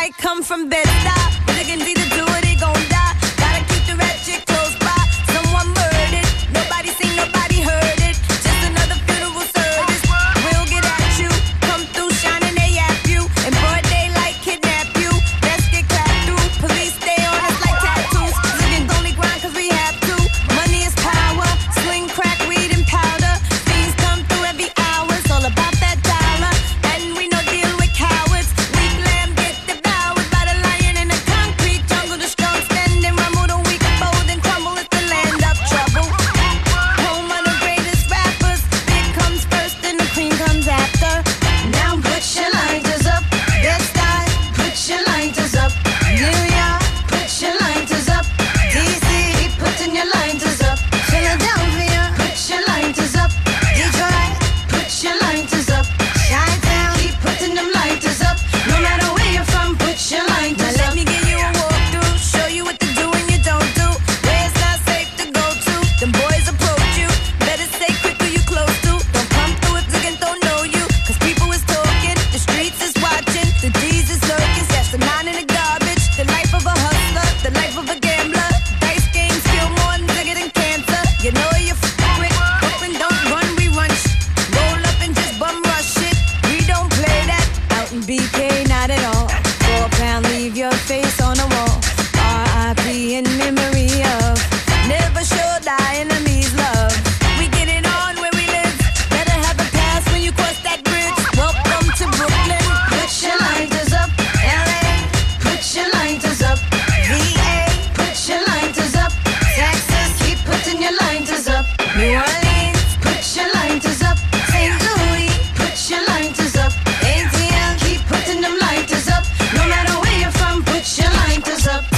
might come from Bed-Stuy. Niggas either do or they gon' die. Gotta keep the ratchet close by. Someone murdered, nobody seen, nobody heard it. Just another funeral service. We'll get at you, come through shining, they yap you. And broad daylight kidnap you. Best get clapped through, police stay on us like tattoos. Niggas only grind cause we have to. Money is power, sling, crack, weed and powder. Fiends come through every hour, it's all about that dollar. And we no deal with cowards. Weak lamb get devoured by the lion in the concrete jungle. The strong stand and rumble, the weak fold and crumble. It's the land of trouble. Home of the greatest rappers. Big comes first and the cream comes after. Now put your lighters up. Bed-Stuy, put your lighters up. New York, put your lighters up. DC, keep putting your lighters up. Philadelphia, put your lighters up. Detroit, put your lighters up. Chi-Town, keep putting them lighters up. No matter where you're from, put your lighters up. Now let me give you a walkthrough, show you what to do and you don't do. Where it's not safe to go to. Them boys approach you, better stay quick who you close to. Don't come through if niggas don't know you. Cause people is talking, the streets is watching. The D's is lurking, that's the 9 in the garbage. The life of a hustler, the life of a gambler. Dice games kill more nigga than cancer. You know you quick, open, don't run, we run roll up and just bum rush it. We don't play that out in BK, not at all. 4 pound, leave your face on the wall. R.I.P. in memory of never show thy enemies love. We get it on where we live. Better have a pass when you cross that bridge. Welcome to Brooklyn. Put your lighters up. L.A. Put your lighters up. V.A. Put your lighters up. Texas, keep putting your lighters up. New Orleans, put your lighters up. St. Louis, put your lighters up. ATL, keep putting them lighters up. No matter where you're from, put your lighters up.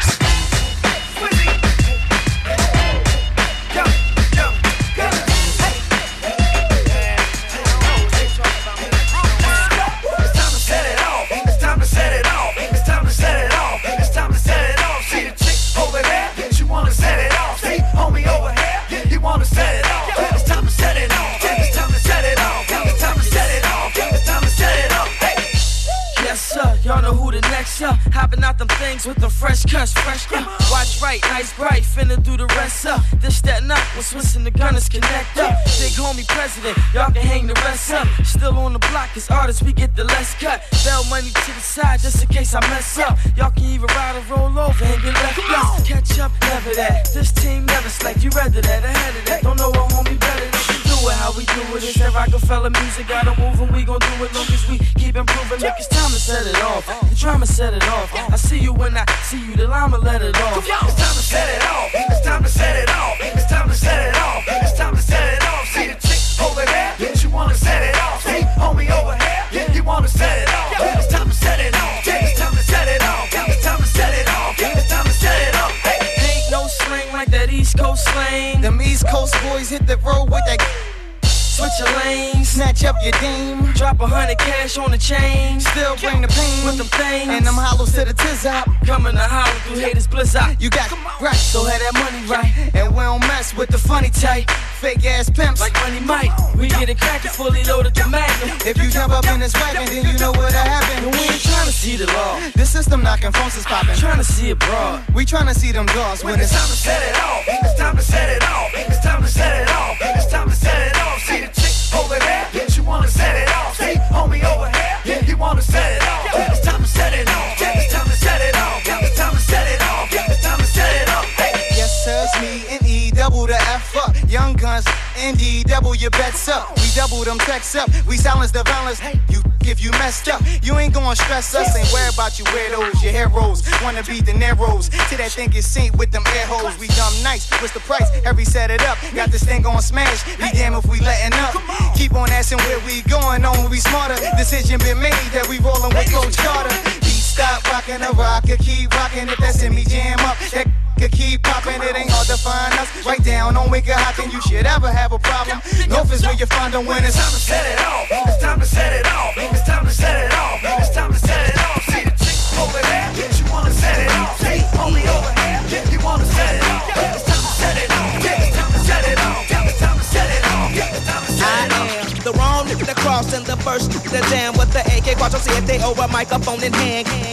Y'all know who the next up. Hopping out them things with the fresh cuts, watch right, nice bright, finna do the rest up. This, that, not, when Swiss and the Gunners connect up. Big homie president, y'all can hang the rest up. Still on the block, as artists, we get the less cut. Bell money to the side, just in case I mess up. Y'all can even ride or roll over and get left up. Catch up, never that. This team never slack, you rather that, ahead of that. Don't know a homie better than you do it. How we do it is that Rockefeller music, gotta move and we gon' do it long as we keep improving. Look, it's time to set it off. The drama set it off. I see you when I see you, then I'ma let it off. It's time to set it off. It's time to set it off. It's time to set it off. It's time to set it off. See the chick over there, yeah, she wanna set it off. See homie over here, yeah, he wanna set it off. It's time to set it off. It's time to set it off. It's time to set it off. It's time to set it off. Ain't no slang like that East Coast slang. Them East Coast boys hit the road with that. Switch your lanes, Snatch up your dame. drop 100 cash on the chain. Still bring the pain. With them things, And them hollows to the tizop. coming to holler through haters blizzard. You got right, So have that money right, and we don't mess with the funny type. Fake ass pimps. like Money Mike. We get it crackin', fully loaded the magnum. If you jump up in this wagon, then you know what'll happen. And we ain't tryna see the law, The system knocking, phones is popping. tryna see it broad. We tryna see them doors when it's time to set it off. It's time to set it off. It's time to set it off. It's time to set it off. See the chick over there, yeah, she wanna set it off. See homie over here, yeah, he wanna set it off. It's time to set it off. It's time to set it off. It's time to set it off. It's time to set it off. Yes, sir, it's me and E, double the F up. Young Guns, ND, double your bets up. We double them texts up. We silence the violence. You if you messed up, you ain't gonna stress us. Ain't worry about you weirdos, your heroes. Wanna be De Niro's. To that thing is synced with them air holes. We dumb nice. What's the price? Every set it up. Got this thing gon' smash. Be damn if we letting up. Keep on asking where we going on. We smarter. Decision been made that we rollin' with Coach Carter. Beat stop rockin' the rocker. Keep rockin' if that's in me jam up. That could keep poppin', it ain't hard to find us. Right down on Wicked Hot, and you should ever have a problem. North is where you find them when it's time to set it off. It's time to set it off. It's time to set it off. It's time to set it off. See the chick over there, yeah, she wanna set it off. See homie over here, yeah, he wanna set it off. It's time to set it off. It's time to set it off. It's time to set it off. It's time to set it off. I am the wrong nigga that crossed in the first the jam with the AK. Watch them see if they over microphone in hand. Damn.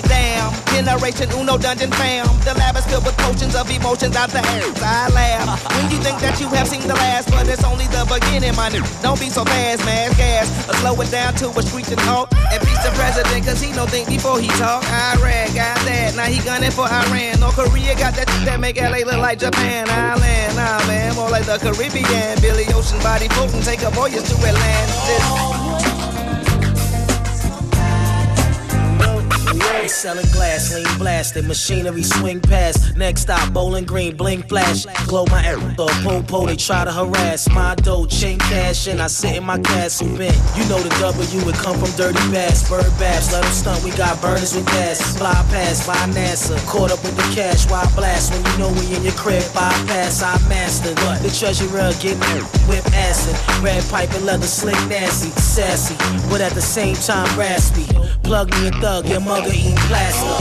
Generation Uno dungeon fam. The lab is filled with potions of emotions out the ass. I laugh when you think that you have seen the last, but it's only the beginning, my nigga. Don't be so fast, mass gas. Or slow it down to a screeching halt. And peace the president, cause he don't think before he talk. Iraq got that, now he gunning for Iran. North Korea got that shit that make LA look like Japan. Island, nah man, more like the Caribbean. Billy Ocean body floating, take a voyage to Atlantis. Selling glass, lean blasting, machinery swing past. Next stop, Bowling Green, blink flash. Glow my air, the po-po, they try to harass. My dough, chain cash, and I sit in my castle bent. You know the W would come from dirty bass. Bird bass, let them stunt, we got burners with gas. Fly past, by NASA, caught up with the cash. Why blast when you know we in your crib? Bypass, I mastered. The treasurer getting whip acid. Red pipe and leather slick nasty, sassy, but at the same time raspy. Plug me a thug, your mugger eat plastic.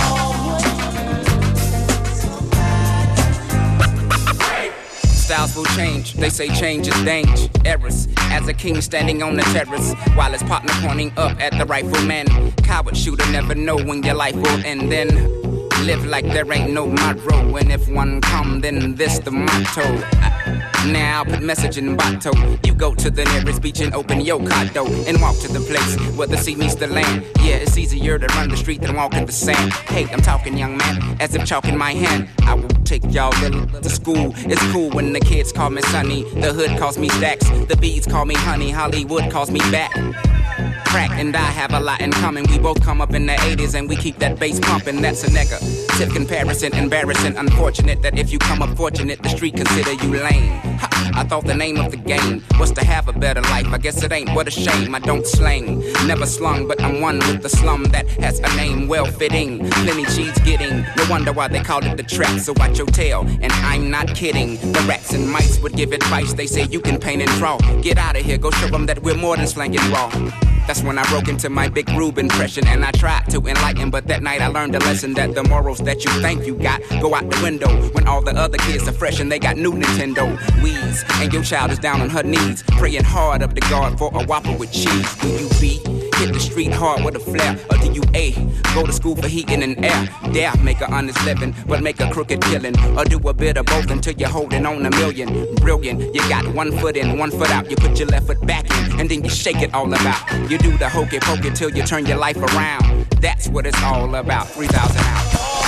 Styles will change, they say change is dangerous. As a king standing on the terrace, while his partner pointing up at the rifleman. Coward shooter never know when your life will end. Then live like there ain't no tomorrow. And if one come, then this the motto. Now put message in bottle. You go to the nearest beach and open your condo and walk to the place where the sea meets the land. Yeah, it's easier to run the street than walk in the sand. Hey, I'm talking young man, as if chalk in my hand. I will take y'all to school. It's cool when the kids call me Sonny. The hood calls me Stacks. The bees call me Honey. Hollywood calls me back. Crack and I have a lot in common. We both come up in the 80s and we keep that bass pumping. That's a negative comparison, embarrassing. Unfortunate that if you come up fortunate, the street consider you lame. Ha, I thought the name of the game was to have a better life. I guess it ain't, what a shame. I don't slang, never slung, but I'm one with the slum that has a name well fitting. Plenty cheese getting, no wonder why they called it the trap. So watch your tail, and I'm not kidding. The rats and mice would give advice. They say you can paint and draw. Get out of here, go show them that we're more than slanging raw. That's when I broke into my Big Rube impression and I tried to enlighten, but that night I learned a lesson that the morals that you think you got go out the window when all the other kids are fresh and they got new Nintendo Wii's and your child is down on her knees praying hard up to God for a Whopper with cheese. Will you be hit the street hard with a flare, or do you A, go to school for heating and air? Dare make an honest living but make a crooked killing, or do a bit of both until you're holding on a million? Brilliant, you got 1 foot in, 1 foot out. You put your left foot back in and then you shake it all about. You do the hokey pokey till you turn your life around. That's what it's all about. 3,000 out.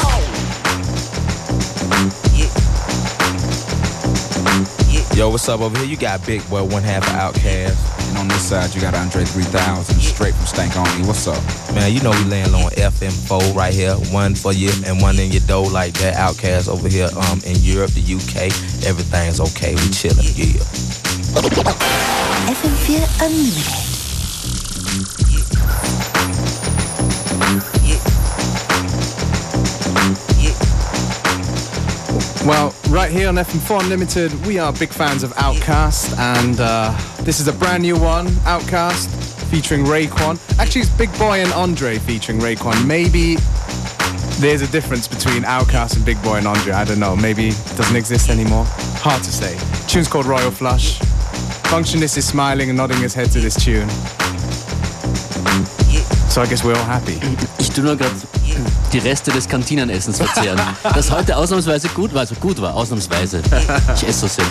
Yo, what's up over here? You got Big Boy, one half of Outkast. And on this side, you got Andre 3000, straight from Stank Only. What's up? Man, you know we laying on FM4 right here. One for you and one in your dough like that. Outkast over here in Europe, the UK. Everything's okay. We chilling, yeah. FM4 Unlimited. Well, right here on FM4 Unlimited, we are big fans of Outkast, and this is a brand new one, Outkast, featuring Raekwon. Actually, it's Big Boy and Andre featuring Raekwon. Maybe there's a difference between Outkast and Big Boy and Andre. I don't know. Maybe it doesn't exist anymore. Hard to say. The tune's called Royal Flush. Functionist is smiling and nodding his head to this tune. So I guess we're all happy. Ich tue nur gerade die Reste des Kantinenessens verzehren. Das heute ausnahmsweise gut war, also gut war, ausnahmsweise. Ich esse so sehr.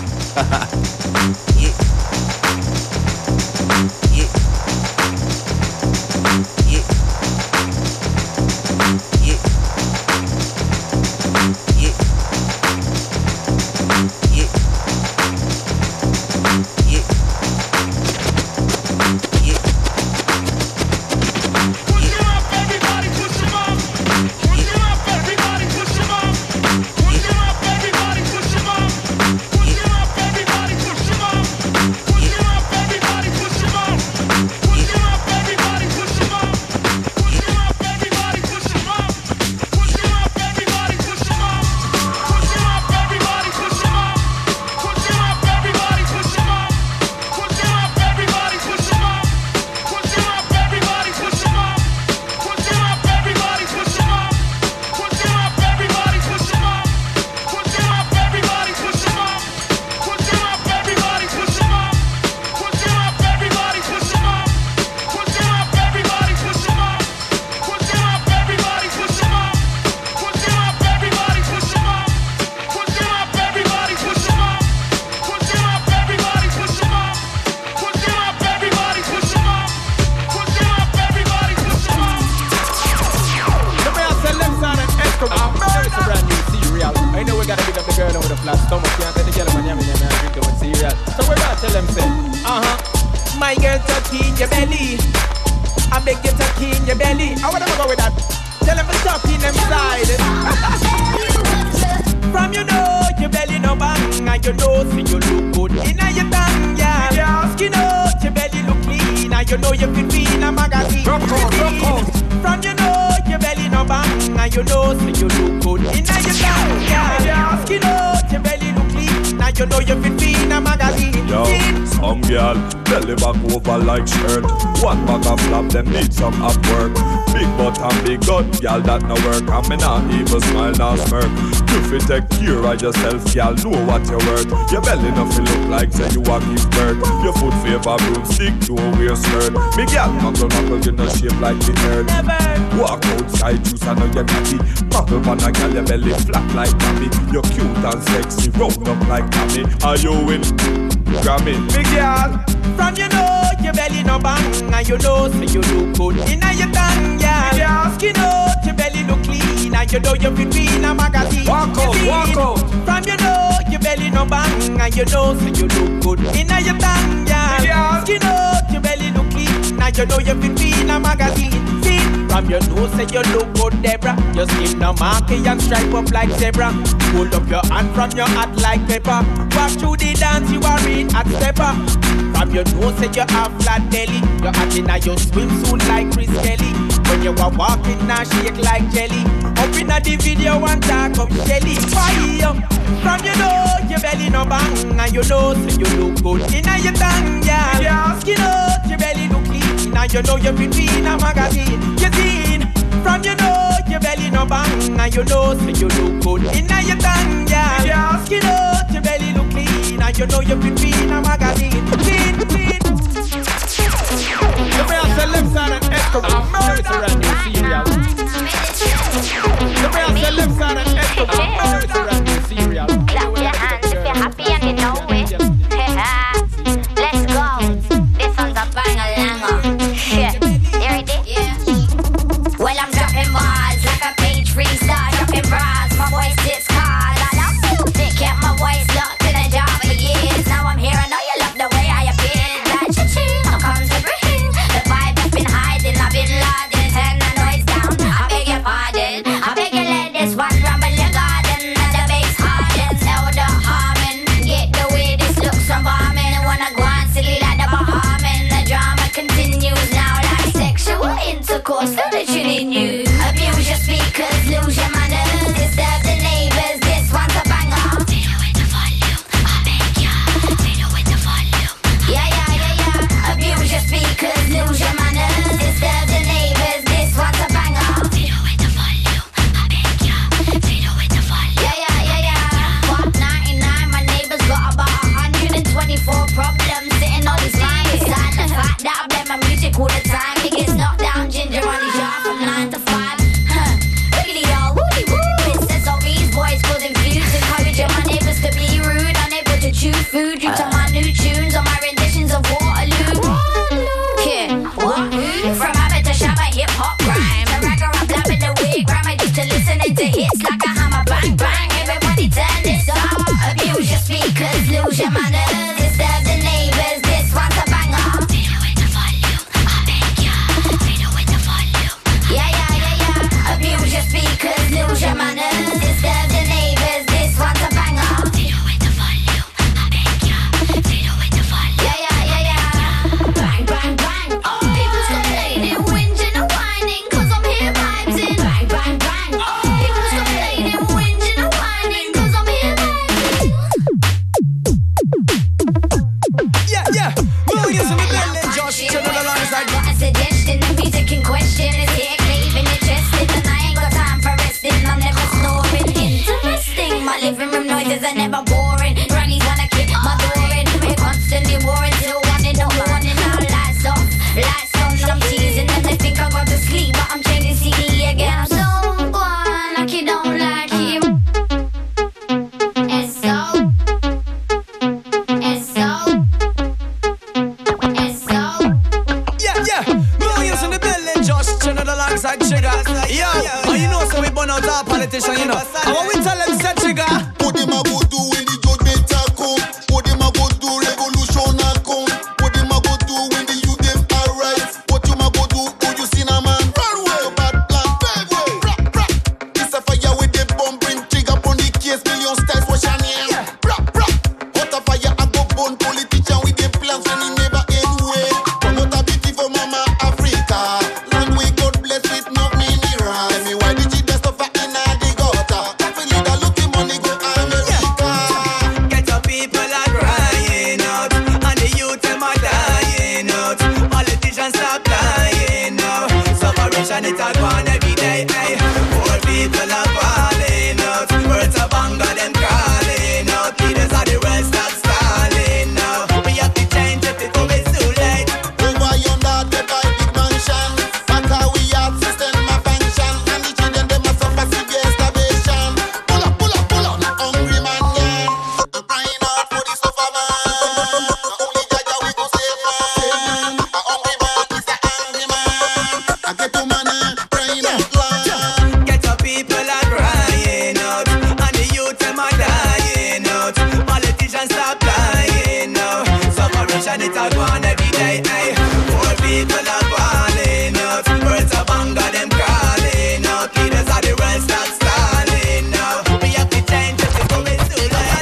your belly. I beg you to key in your belly. I wanna go with that. Tell them to stop in them side. From you know your belly no bang, and you know see you look good inna your tongue, yeah. Skin out your belly look clean, and you know you fit in a magazine. From you know your belly no bang, and you know see you look good inna your tongue, yeah. Skin out your belly look clean, and you know you fit in a magazine. Yo, some girl belly back over like shirt. One bag of flap, them need some up work. Big butt and big gut, girl that no work. And me not even smile nor smirk. You fit take care of yourself, girl, know what you're worth. Your belly nothing look like say you a give birth. Your foot favor broomstick, don't wear skirt. Me girl knuckle, you no shape like the earth. Walk outside, juice I know you're natty. Muckle man a girl, your belly flat like Tammy. You're cute and sexy, round up like Tammy. Are you in? Grammy, me girl. From you know your belly no bang, and you know say you look good inna your tongue, yeah. Skin out your belly look clean, and you know you fit in a magazine. Walk out. From you know your belly no bang, and you know say you look good inna your tongue, yeah. Skin out your belly look clean, and you know you fit in a magazine. From your nose say you look good, Deborah. Your skin no marky and stripe up like zebra. Hold up your hand from your hat like pepper. Walk through the dance, you are in at stepper. From your nose say you have flat belly. Your hat inna your swimsuit like Chris Kelly. When you are walking now shake like jelly. Up inna the video and talk of Shelly. Fire. From you know your belly no bang, and you know say you look good inna your tongue, yeah. Skin out your belly look clean, and you know you fit in a magazine. You seen? From you know your belly no bang, and you know say you look good inna your tongue, yeah. Skin out your belly look clean, and you know you fit in a magazine. Clean. The man say left side and Escobar murder and new cereal. The man say left side and Escobar murder and new cereal. Clap your hands if you're happy and you know it. Let's go. This one's a bang-a-langer. Yeah. You ready? Yeah. Well, I'm dropping bars like a page freestyle. Dropping bras, my voice gets hard. I love music, kept my voice locked in a jar for years. Now I'm here, I know you love the way I appear. That cha-ching, I'm come to bring the vibe I've been hiding. I've been loading, turn the noise down. I beg your pardon. I beg you let this one rumble your garden. And the bass hardens, elder harmon. Get the way this looks from bombing. I wanna go on silly like the Bahaman. The drama continues now like sexual intercourse. Feel the tune in you. Abuse your speakers, lose your manners. Disturb the neighbors, this one's a banger. Fiddle with the volume, I beg ya. Fiddle with the volume. Yeah. Abuse your speakers, lose your manners. Disturb the neighbors, this one's a banger. Fiddle with the volume, I beg ya. Fiddle with the volume. Yeah. Pop 99, my neighbors got about 124 problems sitting on his mind. Beside the fact that I play my music all the time. He gets knocked down, ginger on his yard from 9 to 5. Wiggity y'all, woody woo. It says all these boys causing feuds, encouraging my neighbors to be rude, unable to chew food due to my new tunes or my renditions of Waterloo. Yeah, what? From habit to shabba, hip hop rhyme. To ragga rap, blabbing the wig, gram addicted to listening to hits like a hammer, bang bang. Everybody turn this up. Abuse your speakers, lose your manners. Disturb the neighbors, this one's a banger. Fiddle with the volume, I beg ya. Fiddle with the volume. Yeah. Abuse your speakers, lose your manners. Disturb the neighbors, this one's a banger. Fiddle with the volume, I beg ya. Fiddle with the volume. Yeah. Bang, bang, bang. People's complaining, whinging and whining, 'cause I'm here vibes in. Bang, bang, bang. People's complaining, whinging and whining, 'cause I'm here vibes in. Yeah. Millions in the building, Josh. Turn it alongside. Got a suggestion, the music in question is here, craving your chest, and I ain't got time for resting. I'm never snoring. Interesting, my living room noises are never boring. Granny's gonna kick my door in. We're constantly warring till one in the morning. Now lights off, lights on. I'm teasing them, they think I got to sleep, but I'm changing CD again. I'm so gone, like you don't like him. It's so. Yeah. Millions in the building, Josh. Turn it alongside Trigger. Yo, you know, so we burn out our politician, you know. And what we tell them, said Trigger. What them a go do when the judgment a come? What them a go do revolution a come? What them a go do when the youth them are and it's a go on every day. Hey, poor people are falling out. Birds of hunger, them crawling out. Leaders of the world start stalling now. We have to change just to go into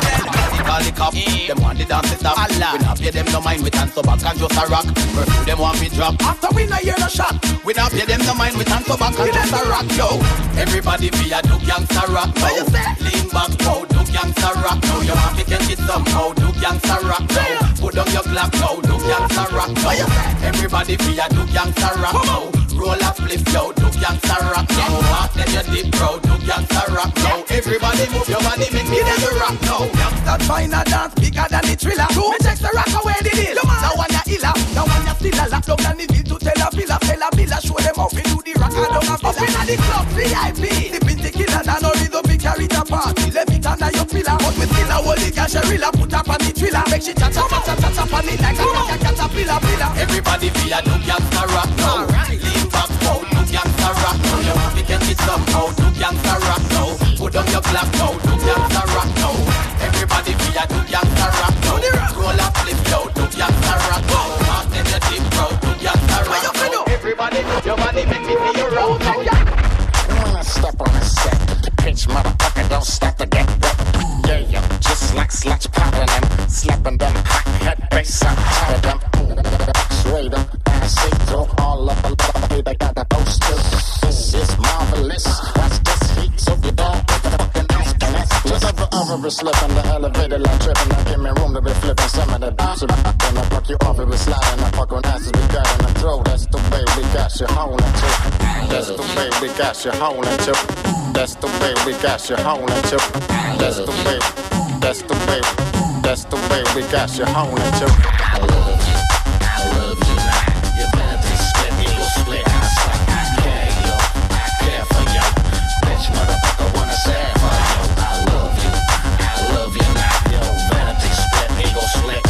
the call the cop, them want the dance to stop. We not pay them no mind, we turn so back and just a rock. Pursue them want me drop. After we not hear no shot, we not pay them no mind, we turn so back and just a rock. Yo, everybody be a do gangsta rock. Now lean back, now do gangsta rock. Now you want to get it somehow, do gangsta rock. Now put on your clock, now do gangsta rock. Now everybody be a do gangsta rock. Now roll a flip, yo, do gangsta rock. Now walk then you deep crowd, do gangsta rock. Now everybody move your body, make me then you rock. Now gangsta find a dance bigger than the thriller. Me text the rock away the deal. Now one ya illa, now one ya still a lock down and the bill to tell a villa, show them how we do the rock and down a up inna the club VIP. The pinty killer and no rhythm we carry the party. Let me turn your pillar, but me still a holy cash a rilla. Put up on the thriller, make she cha cha on it like a caterpillar. Everybody be a do gangsta rock now. Lean back, now do gangsta rock now. You want to get it somehow, do gangsta rock now. Put on your black now, do gangsta rock now. Everybody be a do gangsta rock now. Roll up, flip, yo, do gangsta rock now. Mark then you deep crowd, do gangsta rock now. Everybody move your body, make me see you roll now. When I step on the set, the pitch motherfucker don't stop to get wet. Yeah, yeah, just like sluts popping them, slapping them hot head bass on top of them. Straight up, I see through all of the they got the post too. This is marvelous. Watch this heat, so you don't get the fucking ass. Just ever slipping the elevator like tripping. Now give me room to be flipping some of the boots. When I fuck you off, it be sliding. I fuck on asses, we got in the throat. That's the way we got you holding to. That's the way we got you holding to. That's the way we got you holding to. That's the way. That's the way. That's the way we got you holding to. I love you. I love you. Your vanity split, ego split. I care you. I care for you. Bitch, motherfucker, wanna say for you. I love you. I love you now. Your vanity split, ego split.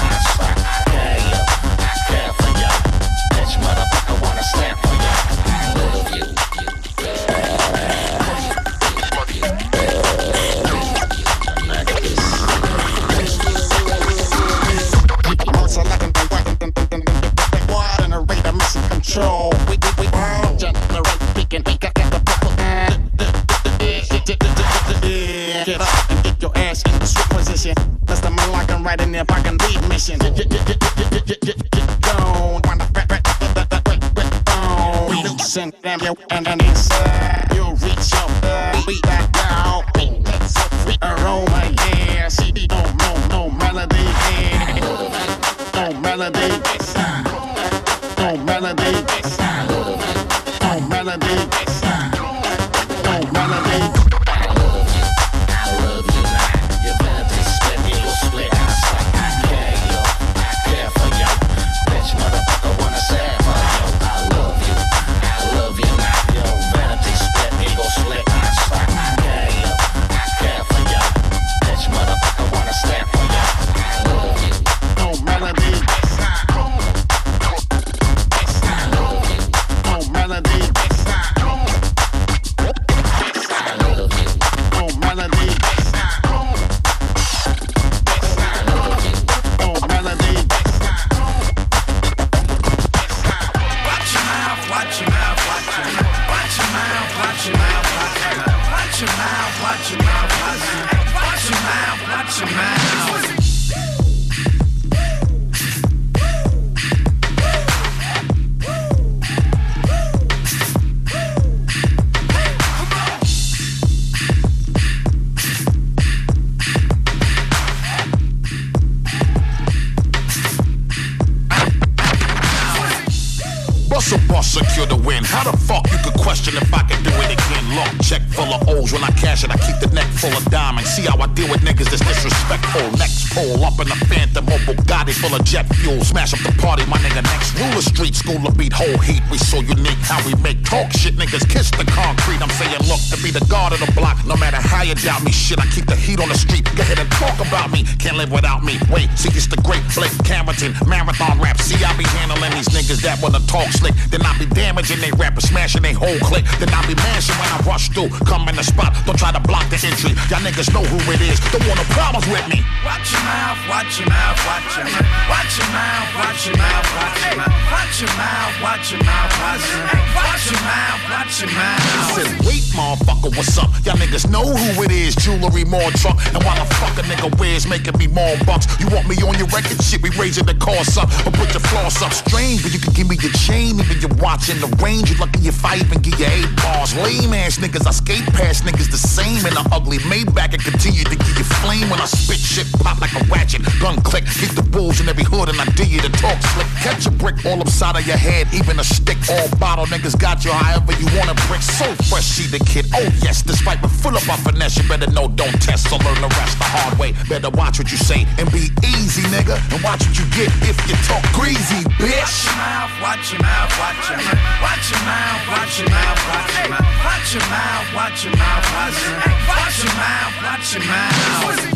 I care you. I care for you. Bitch, motherfucker, wanna stand for you. I love you. Control. We generate speaking. Get up and get your ass in the swift position. That's the man like I'm right in there. If I can lead mission. Get gone. We loosen them yo and then inside. You'll reach your beat back down. Aroma, yeah. See, no melody, yeah. No melody. No melody, no melody, no melody. I love you now. Your vanity split, ego split. I care you, I care for you. Bitch, motherfucker, wanna say for you. I love you now. Your vanity split, ego split. I care you, I care for you. Bitch, motherfucker, wanna stand for you. I love you. No melody. Secure the win. How the fuck you could question if I can do it again? Look, check full of O's when I cash it. I keep the neck full of diamonds. See how I deal with niggas that's disrespectful. Next pole up in the Phantom or Bugatti full of jet fuel. Smash up the party, my nigga. Next ruler street school to beat whole heat. We so unique how we make talk shit. Niggas kiss the concrete. I'm saying look to be the guard of the block. No matter how you doubt me, shit. I keep the heat on the street. Go ahead and talk about me. Can't live without me. Wait, see it's the great Blake Camerton marathon rap. See I be handling these niggas that wanna talk slick. Then I be damaging they rappers, smashing they whole clique. Then I be mashing when I rush through through. Come in the spot, don't try to block the entry. Y'all niggas know who it is. Don't want no problems with me. Watch your mouth, watch your mouth, watch your mouth. Watch your mouth, watch your mouth, watch your mouth. Watch your mouth, watch your mouth, watch your mouth. Watch your mouth, watch your mouth. Said, wait, motherfucker, what's up? Y'all niggas know who it is. Jewelry, more truck. And while a fucking nigga wears, making me more bucks. You want me on your record? Shit, we raising the cost up. Or put your floss up. Strange, but you can give me your chain. Even you're watching the range. You lucky if I even give you 8 bars. Lame ass niggas, I skate past niggas the same. In the ugly Maybach and continue to give you flame. When I spit shit, pop like a ratchet. Gun click, hit the bulls in every hood. And I dare you to talk slick. Catch a brick all upside of your head. Even a stick, all bottle. Niggas got you however you want a brick. So fresh, see the kid. Oh yes, despite but full of our finesse. You better know, don't test. So learn the rest the hard way. Better watch what you say and be easy, nigga. And watch what you get if you talk greasy, bitch. Watch your mouth, watch your mouth. Watch your mouth, watch your mouth, watch your mouth. Watch your mouth, watch your mouth, watch your mouth. Watch your mouth, watch your mouth.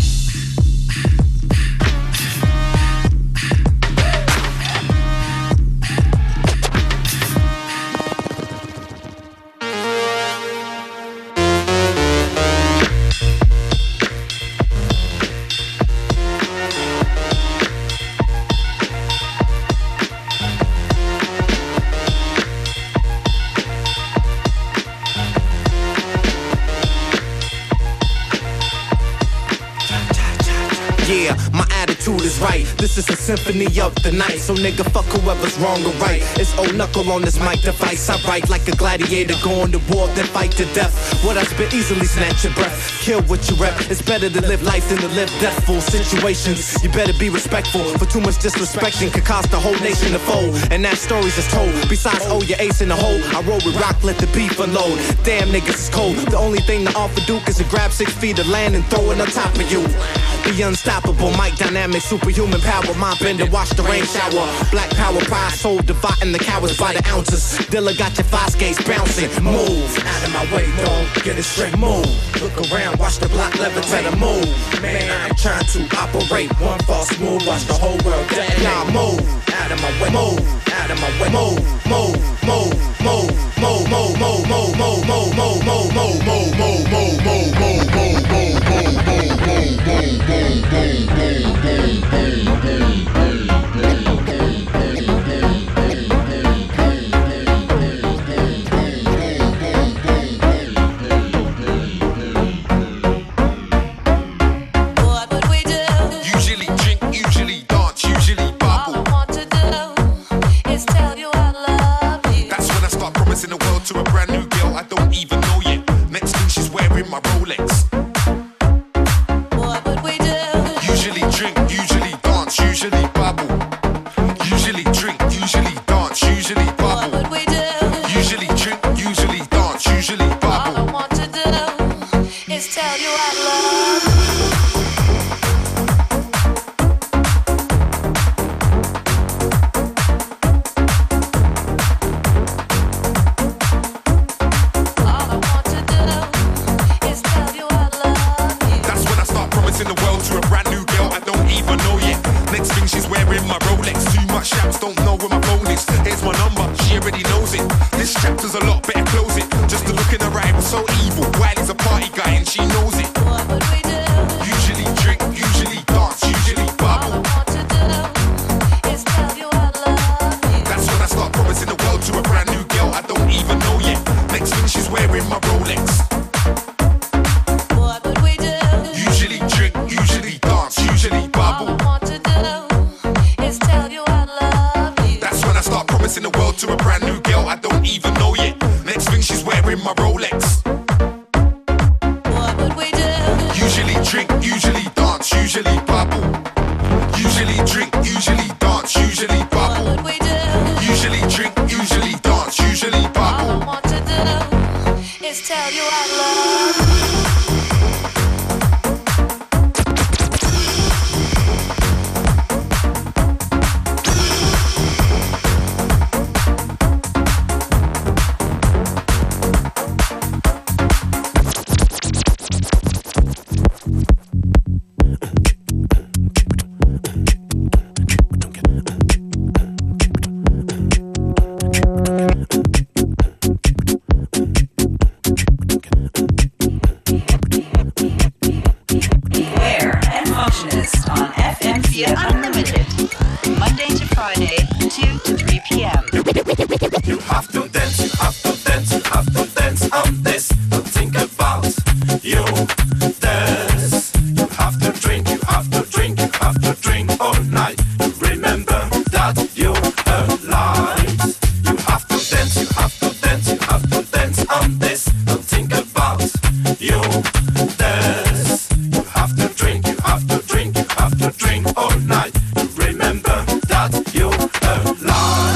Yeah, my attitude is right. This is a symphony of the night. So nigga, fuck whoever's wrong or right. It's old knuckle on this mic device. I write like a gladiator going to war, then fight to death. What I spit easily snatch your breath. Kill what you rep. It's better to live life than to live deathful situations. You better be respectful. For too much disrespecting could cost the whole nation to fold. And that story's just told. Besides, oh, your ace in the hole. I roll with rock, let the beef unload. Damn niggas is cold. The only thing to offer Duke is to grab 6 feet of land and throw it on top of you. The unstoppable, mic dynamic, superhuman power, mind bender, watch the rain shower. Black power, pride, soul, dividing the cowards by the ounces. Dilla got your 5 skates bouncing. Move out of my way, dog. Get it straight. Move. Look around, watch the block levitate. Move. Man, I ain't trying to operate. One false move, watch the whole world detonate. Y'all move out of my way. Move out of my way. Move, move, move, move, move, move, move, move, move, move, move, move, move, move, move, move, move, move, Usually drink, usually dance, usually bubble. All I want to do is tell you I love you. That's when I start promising the world to a brand new girl I don't even know yet. Next thing she's wearing my Rolex. What would we do? Usually drink, usually dance, usually bubble. Usually drink, usually dance, usually bubble. What would we do? Usually drink, usually dance, usually bubble. All I want to do is tell you I love you. Chapter's a lot better, close it. Just the look in her eye was so evil. Wiley's a party guy and she knows it. What would we do? Usually drink, usually dance, usually bubble. All I want to do is tell you I love you. That's when I start promising the world to a brand new girl I don't even know yet. Next thing she's wearing my Rolex. What would we do? Usually drink, usually dance, usually bubble. All I want to do is tell you I love you. That's when I start promising the world to a brand new girl I don't even know yet. Next thing she's wearing my Rolex. What would we do? Usually FM4 Unlimited. Monday to Friday, 2 to 3 p.m. You have to dance, you have to dance, you have to dance on this. Don't think about you dance. You have to drink, you have to drink, you have to drink all night. Remember that you're alive. You have to dance, you have to dance, you have to dance on this. Don't think about you dance. You have to drink, you have to drink, you have to drink all night. Remember that you're alive.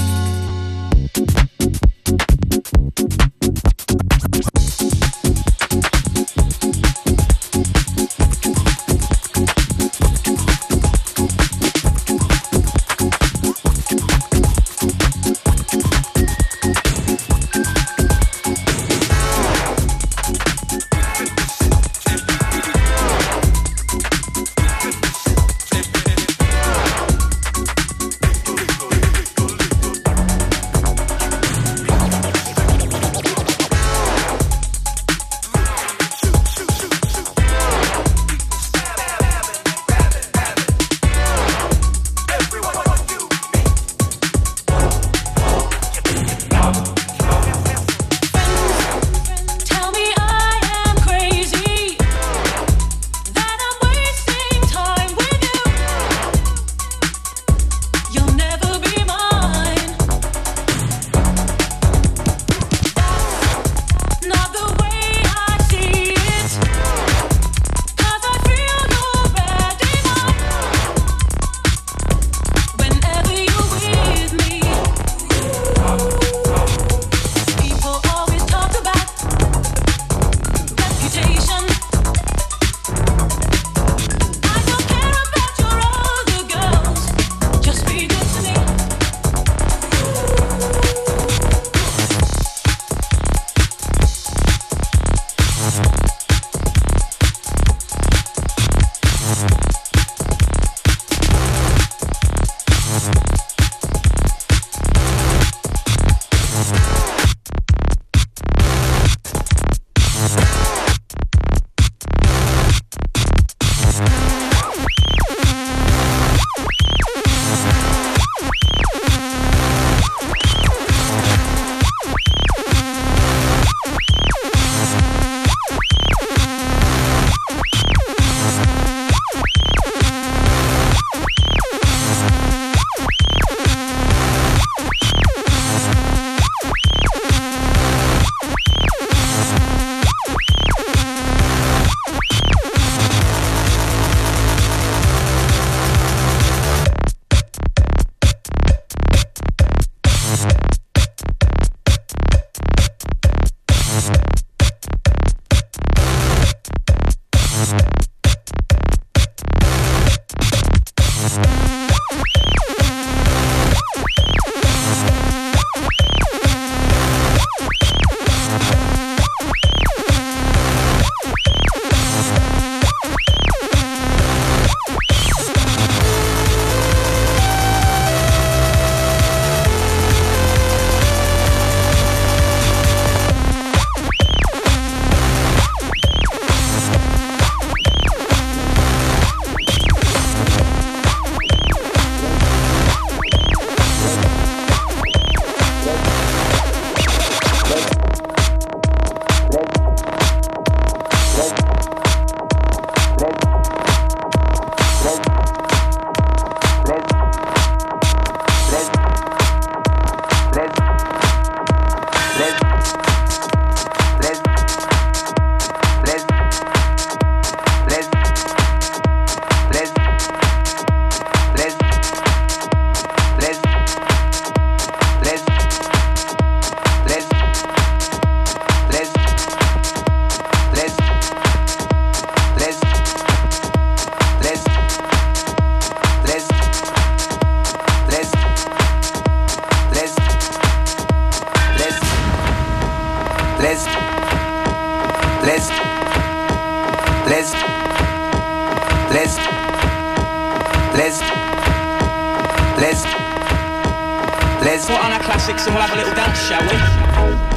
Let's put on our classics and we'll have a little dance, shall we?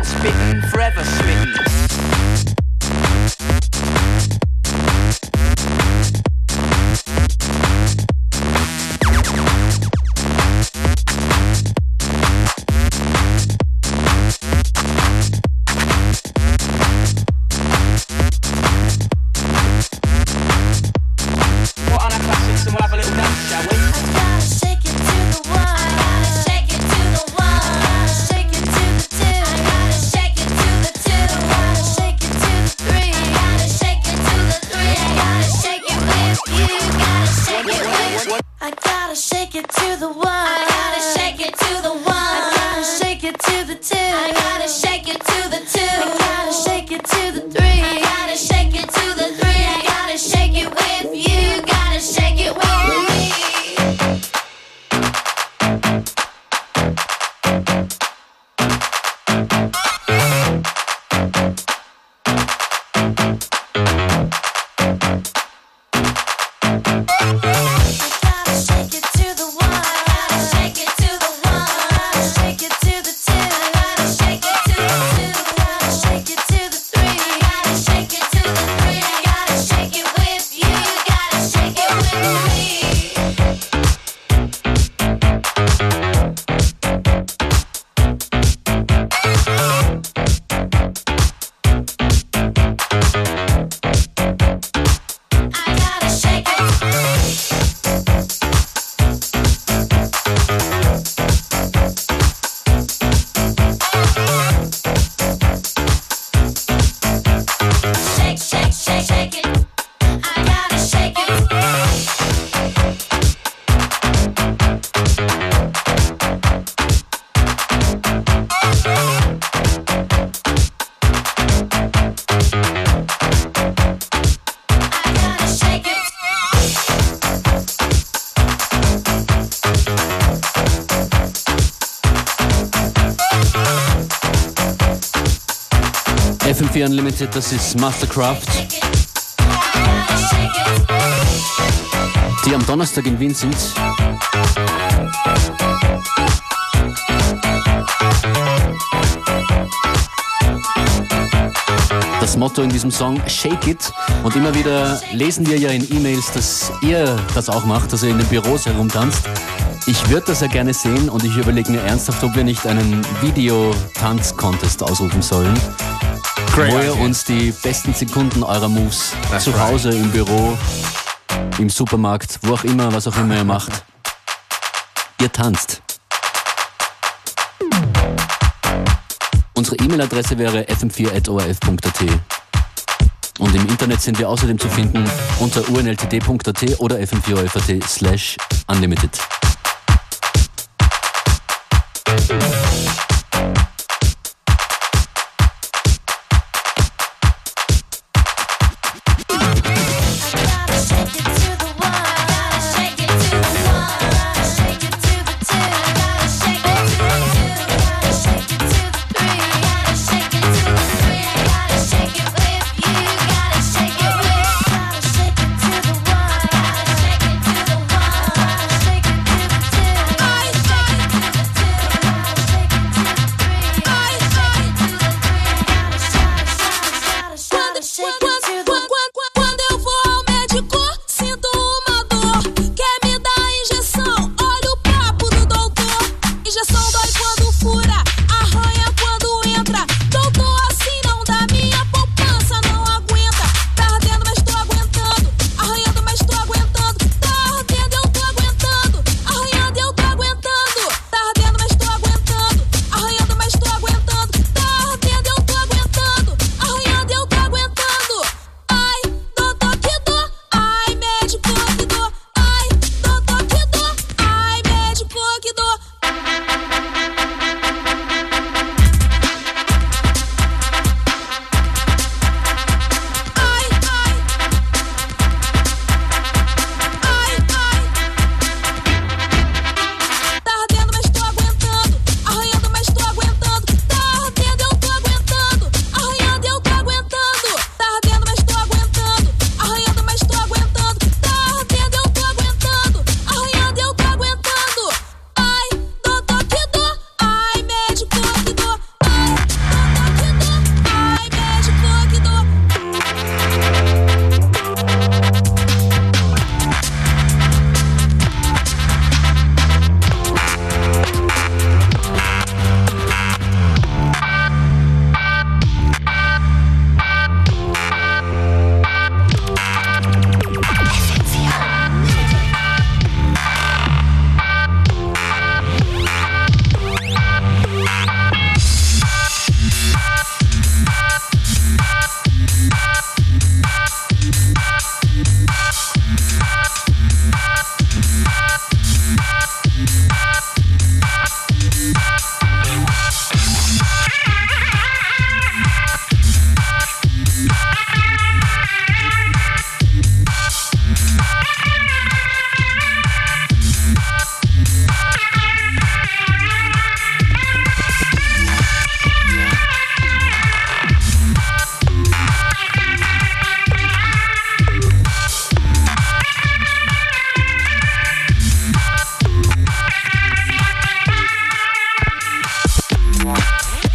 spitting, forever smitten. FM4 Unlimited, das ist Mastercraft, die am Donnerstag in Wien sind. Das Motto in diesem Song, Shake It. Und immer wieder lesen wir ja in E-Mails, dass ihr das auch macht, dass ihr in den Büros herumtanzt. Ich würde das ja gerne sehen und ich überlege mir ernsthaft, ob wir nicht einen Videotanz-Contest ausrufen sollen. Great wo ihr uns die besten Sekunden eurer Moves zu Hause, im Büro, im Supermarkt, wo auch immer, was auch immer ihr macht. Ihr tanzt. Unsere E-Mail-Adresse wäre fm4@orf.at. Und im Internet sind wir außerdem zu finden unter unltd.at oder fm4orf.at/unlimited.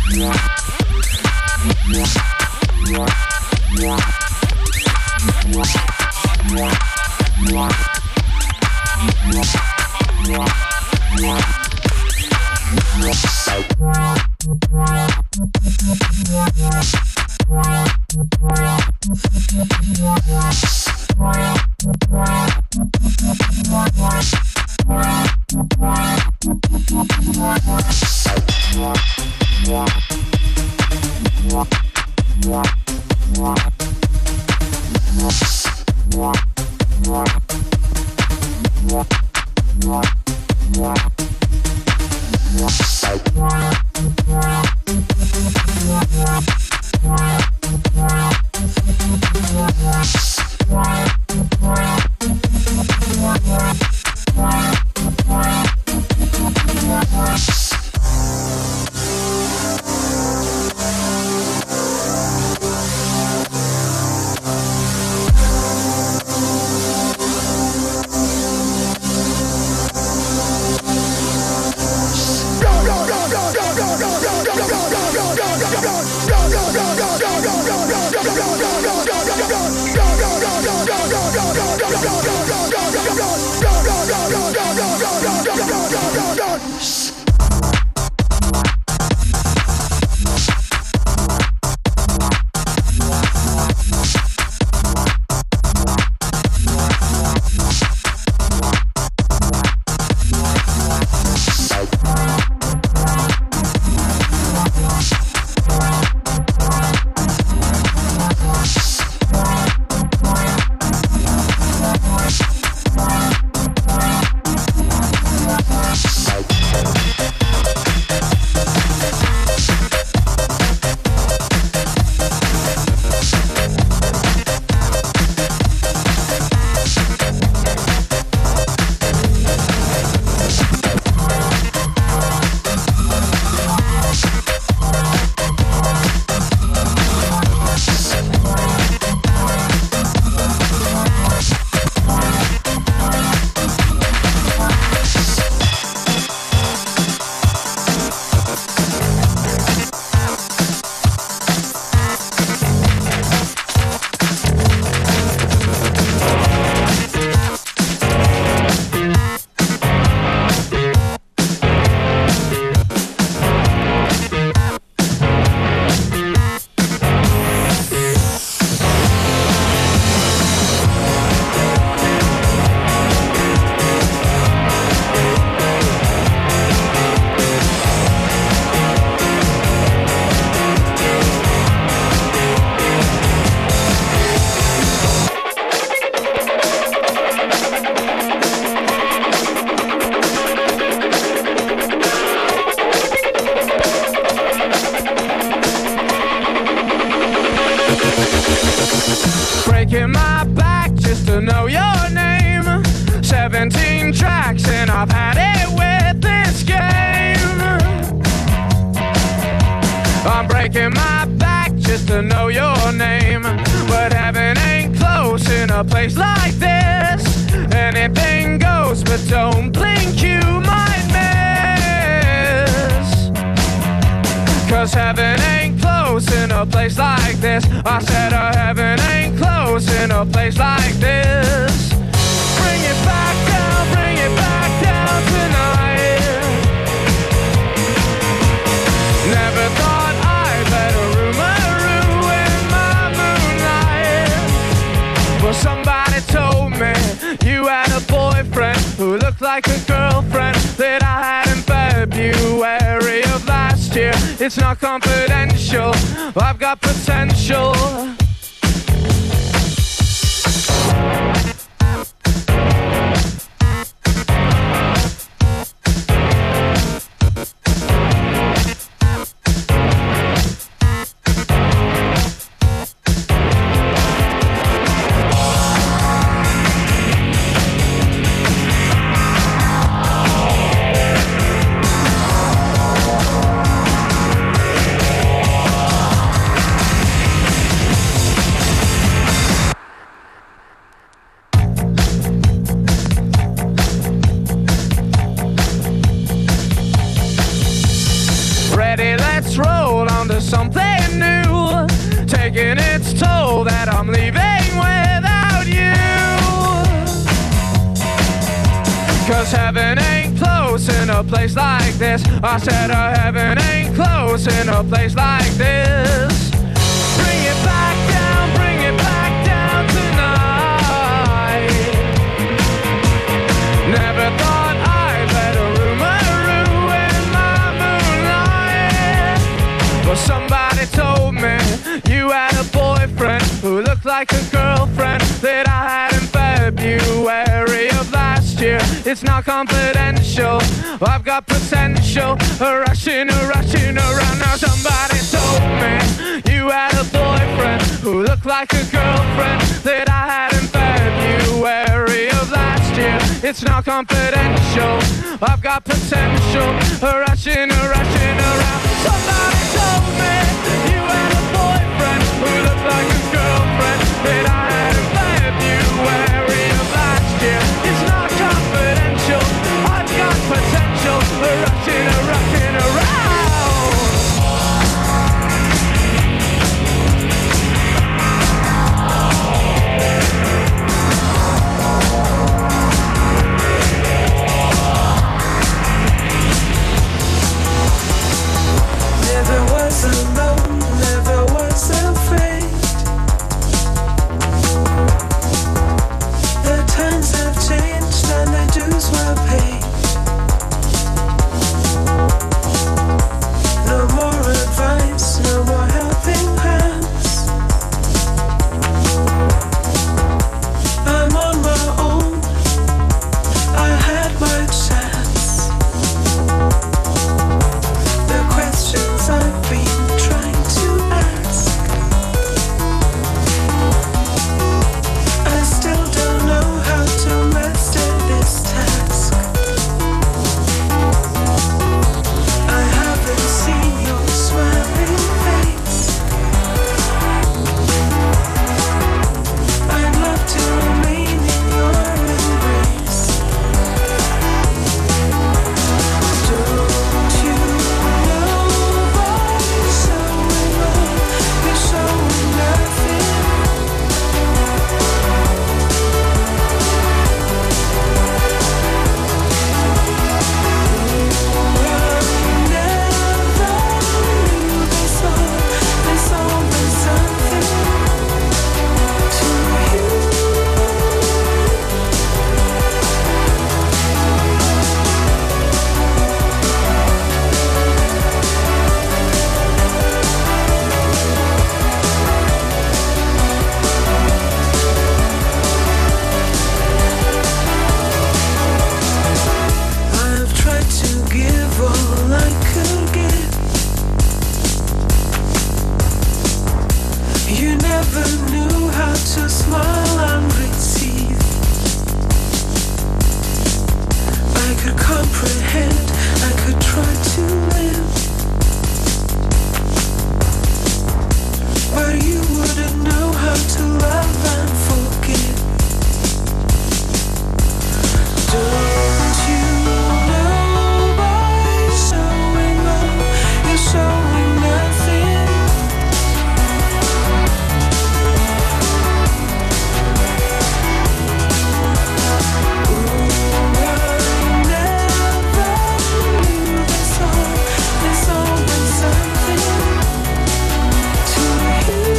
breaking my back just to know your name. 17 tracks and I've had it with this game. I'm breaking my back just to know your name. But heaven ain't close in a place like this. Anything goes, but don't blink, you might miss. 'Cause heaven ain't close in a place like this. I said heaven ain't close in a place like this. Bring it back down tonight. Never thought I'd let a rumor ruin my moonlight. Well, somebody told me you had a boyfriend who looked like a girlfriend that I had in February of last year. It's not confidential, I've got potential. heaven ain't close in a place like this. I said heaven ain't close in a place like this. Bring it back down tonight. Never thought I'd let a rumor ruin my moonlight. Well, somebody told me you had a boyfriend who looked like a girlfriend that I had in February of last year. It's not confidential, I've got potential. Rushing around now. Somebody told me you had a boyfriend who looked like a girlfriend that I had in February of last year. It's not confidential, I've got potential. Rushing around. Somebody told me you had a boyfriend who looked like a girlfriend that I had in February of last year. It's not confidential, I've got potential. Rushing around. Never was alone, never was afraid. The times have changed and the dues were paid. No more advice, no more helping hands. I'm on my own, I had my chance. The questions I've been trying to ask, I still don't know how to master this task. I haven't seen your smiling face. I'd love to remain in your embrace. Don't you know by showing up, you're showing nothing. There's always something to you. I've tried to give all I could give. You never knew how to smile and receive. I could comprehend, I could try to live, but you wouldn't know how to love and forgive. Don't you know by showing up, you're showing nothing. There's always something to you.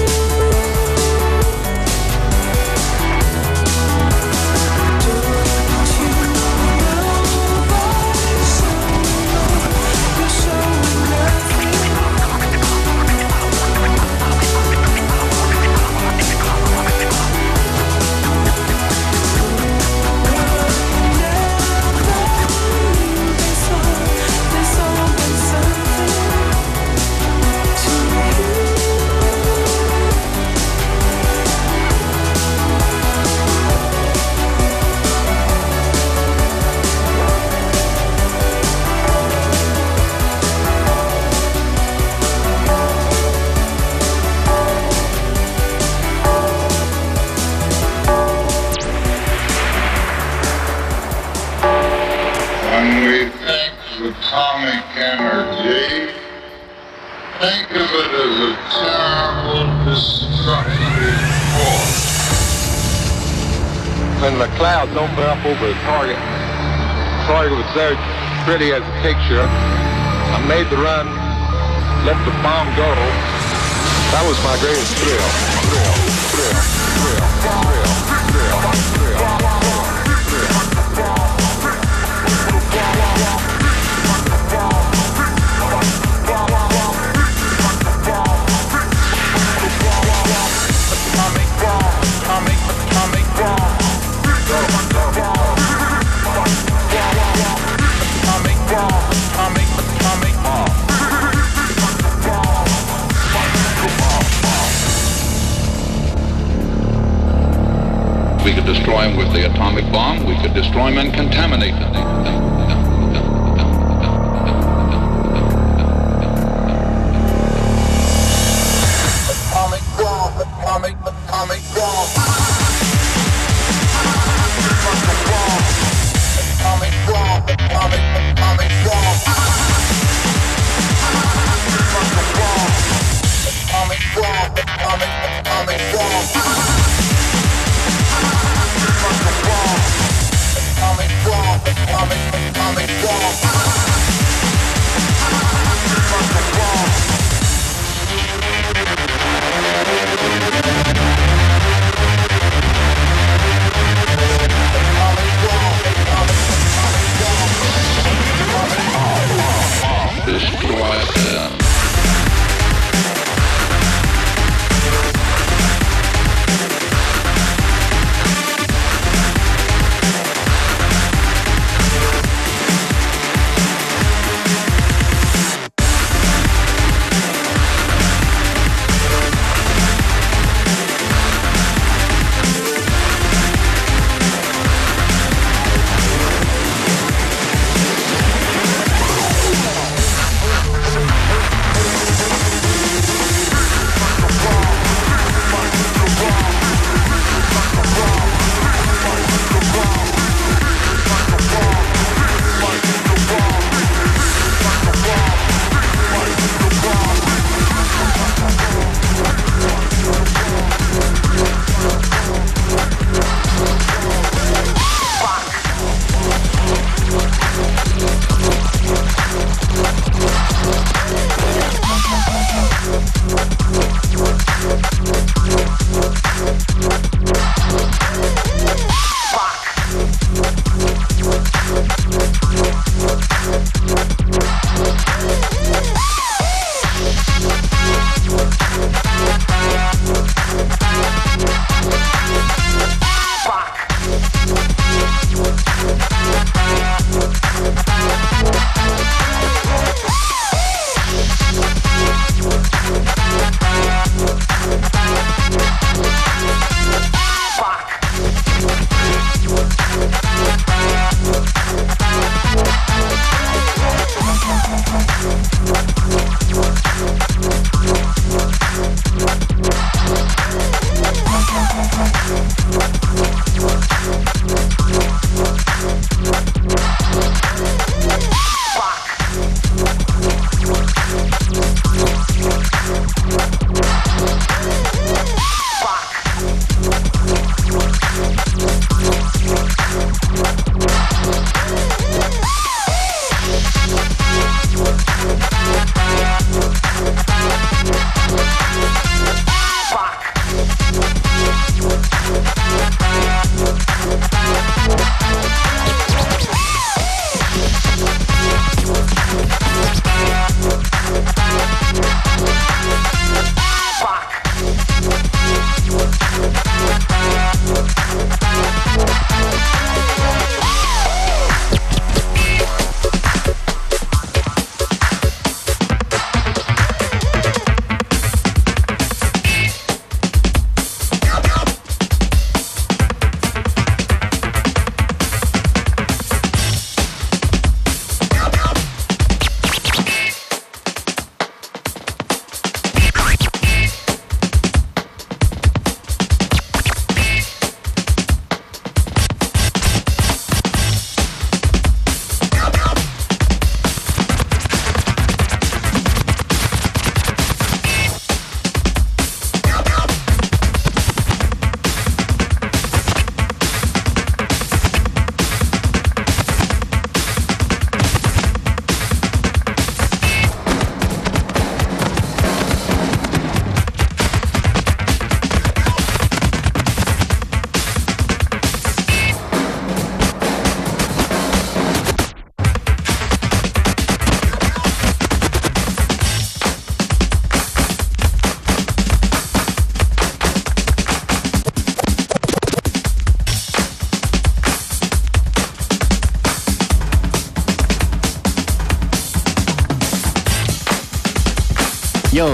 atomic energy. Think of it as a terrible destructive force. When the clouds open up over the target, thought it was very pretty as a picture. I made the run, let the bomb go. That was my greatest We could destroy them with the atomic bomb. We could destroy them and contaminate them. Atomic bomb, atomic bomb. Atomic bomb, atomic bomb. Atomic bomb, atomic bomb. Atomic bomb, atomic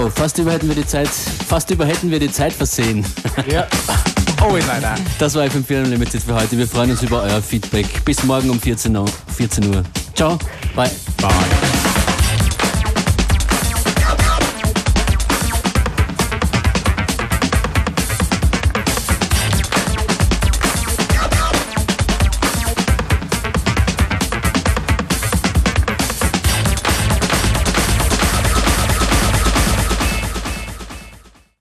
So, fast über hätten wir die Zeit versehen. Ja, always like that. Das war FM4 Unlimited für heute. Wir freuen uns über euer Feedback. Bis morgen um 14 Uhr. Ciao, bye. Bye.